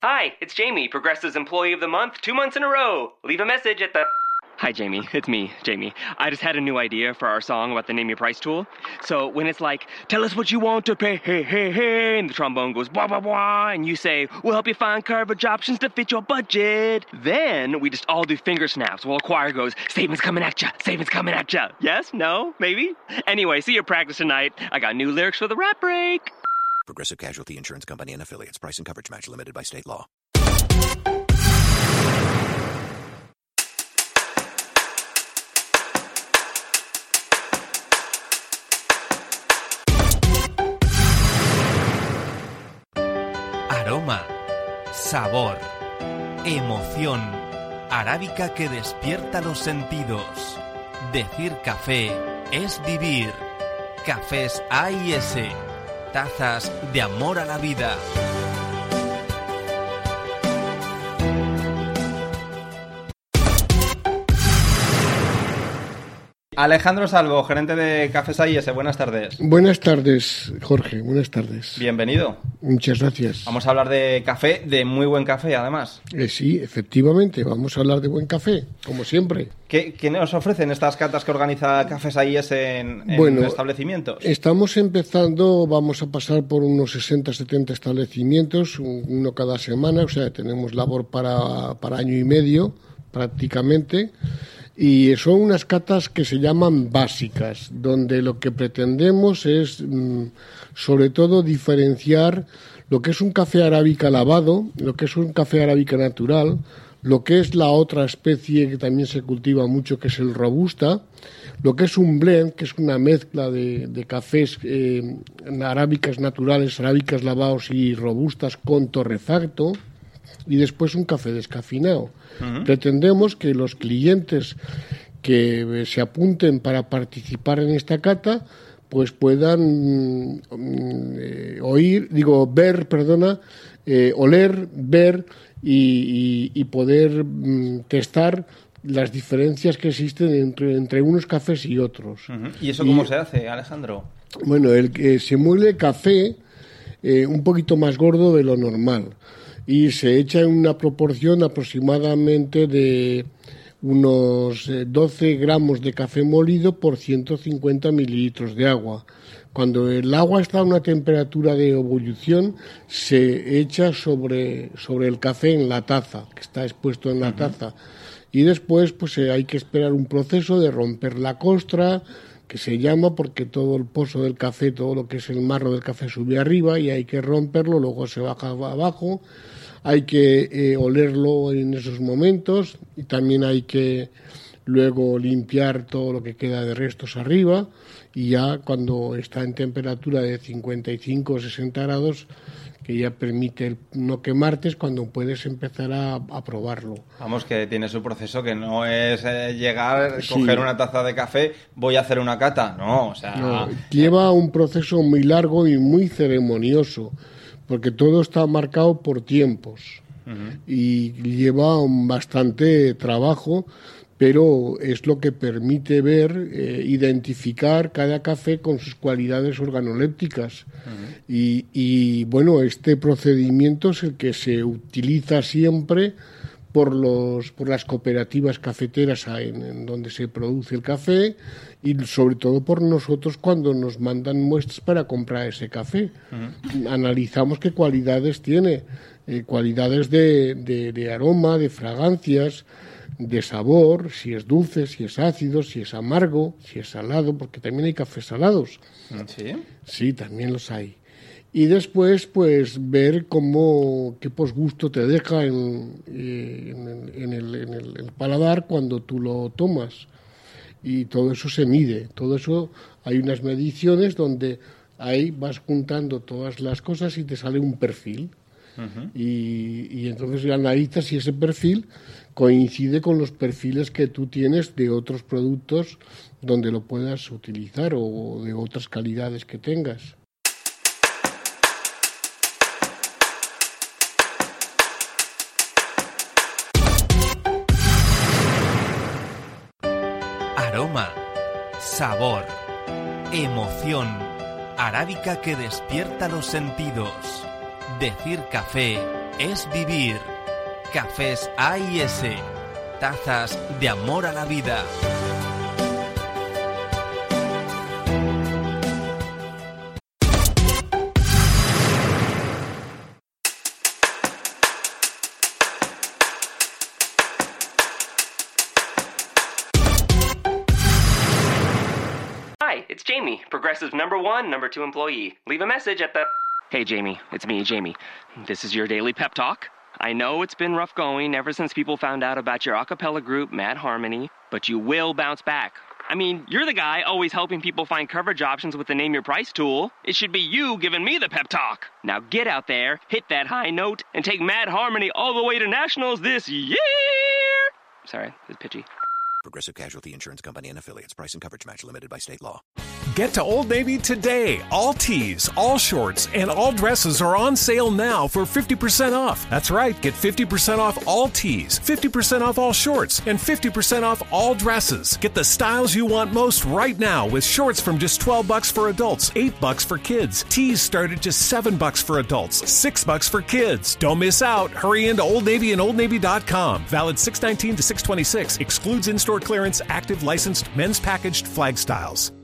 Hi, it's Jamie, Progressive's Employee of the Month, 2 months in a row. Leave a message at the... Hi, Jamie. It's me, Jamie. I just had a new idea for our song about the Name Your Price tool. So when it's like, tell us what you want to pay, hey, hey, hey, and the trombone goes, blah, blah, blah, and you say, we'll help you find coverage options to fit your budget. Then we just all do finger snaps while a choir goes, statements coming at ya, statements coming at ya. Yes? No? Maybe? Anyway, see your practice tonight. I got new lyrics for the rap break. Progressive Casualty Insurance Company and Affiliates. Price and coverage match limited by state law. Aroma, sabor, emoción, arábica que despierta los sentidos. Decir café es vivir. Cafés A&S, tazas de amor a la vida. Alejandro Salvo, gerente de Cafés A&S, buenas tardes. Buenas tardes, Jorge, buenas tardes. Bienvenido. Muchas gracias. Vamos a hablar de café, de muy buen café, además. Sí, efectivamente, vamos a hablar de buen café, como siempre. ¿Qué nos ofrecen estas catas que organiza Cafés A&S en establecimientos? Estamos empezando, vamos a pasar por unos 60-70 establecimientos, uno cada semana, o sea, tenemos labor para año y medio, prácticamente. Y son unas catas que se llaman básicas, donde lo que pretendemos es, sobre todo, diferenciar lo que es un café arábica lavado, lo que es un café arábica natural, lo que es la otra especie que también se cultiva mucho, que es el robusta, lo que es un blend, que es una mezcla de cafés arábicas naturales, arábicas lavados y robustas con torrefacto, y después un café descafeinado. Uh-huh. Pretendemos que los clientes que se apunten para participar en esta cata pues puedan oler, ver y poder testar las diferencias que existen entre unos cafés y otros. Uh-huh. ¿Y eso cómo se hace, Alejandro? Bueno, se muele café un poquito más gordo de lo normal y se echa en una proporción aproximadamente de unos 12 gramos de café molido por 150 mililitros de agua. Cuando el agua está a una temperatura de ebullición, se echa sobre el café en la taza, que está expuesto en la taza. Y después pues hay que esperar un proceso de romper la costra, que se llama porque todo el pozo del café, todo lo que es el marro del café sube arriba y hay que romperlo, luego se baja abajo. Hay que olerlo en esos momentos y también hay que luego limpiar todo lo que queda de restos arriba y ya cuando está en temperatura de 55 o 60 grados, que ya permite no quemarte, es cuando puedes empezar a probarlo. Vamos, que tiene su proceso, que no es llegar, coger una taza de café, voy a hacer una cata, no, o sea... No, lleva un proceso muy largo y muy ceremonioso, porque todo está marcado por tiempos. Uh-huh. Y lleva bastante trabajo, pero es lo que permite ver, identificar cada café con sus cualidades organolépticas. Uh-huh. Y bueno, este procedimiento es el que se utiliza siempre por las cooperativas cafeteras en donde se produce el café y sobre todo por nosotros cuando nos mandan muestras para comprar ese café. Uh-huh. Analizamos qué cualidades tiene, cualidades de aroma, de fragancias, de sabor, si es dulce, si es ácido, si es amargo, si es salado, porque también hay cafés salados. ¿Sí? Sí, también los hay. Y después, pues, ver qué posgusto te deja en el paladar cuando tú lo tomas. Y todo eso se mide. Todo eso, hay unas mediciones donde ahí vas juntando todas las cosas y te sale un perfil. Uh-huh. Y entonces analizas si ese perfil coincide con los perfiles que tú tienes de otros productos donde lo puedas utilizar o de otras calidades que tengas. Aroma, sabor, emoción, arábica que despierta los sentidos. Decir café es vivir. Cafés A y S. Tazas de amor a la vida. Hi, it's Jamie, Progressive's #1, #2 employee. Leave a message at the... Hey, Jamie, it's me, Jamie. This is your daily pep talk. I know it's been rough going ever since people found out about your a cappella group, Mad Harmony, but you will bounce back. I mean, you're the guy always helping people find coverage options with the Name Your Price tool. It should be you giving me the pep talk. Now get out there, hit that high note, and take Mad Harmony all the way to nationals this year! Sorry, it's pitchy. Progressive Casualty Insurance Company and Affiliates. Price and coverage match limited by state law. Get to Old Navy today. All tees, all shorts, and all dresses are on sale now for 50% off. That's right, get 50% off all tees, 50% off all shorts, and 50% off all dresses. Get the styles you want most right now with shorts from just $12 for adults, $8 for kids. Tees start at just $7 for adults, $6 for kids. Don't miss out. Hurry into Old Navy and OldNavy.com. Valid 6/19 to 6/26. Excludes in-store clearance, active licensed men's packaged flag styles.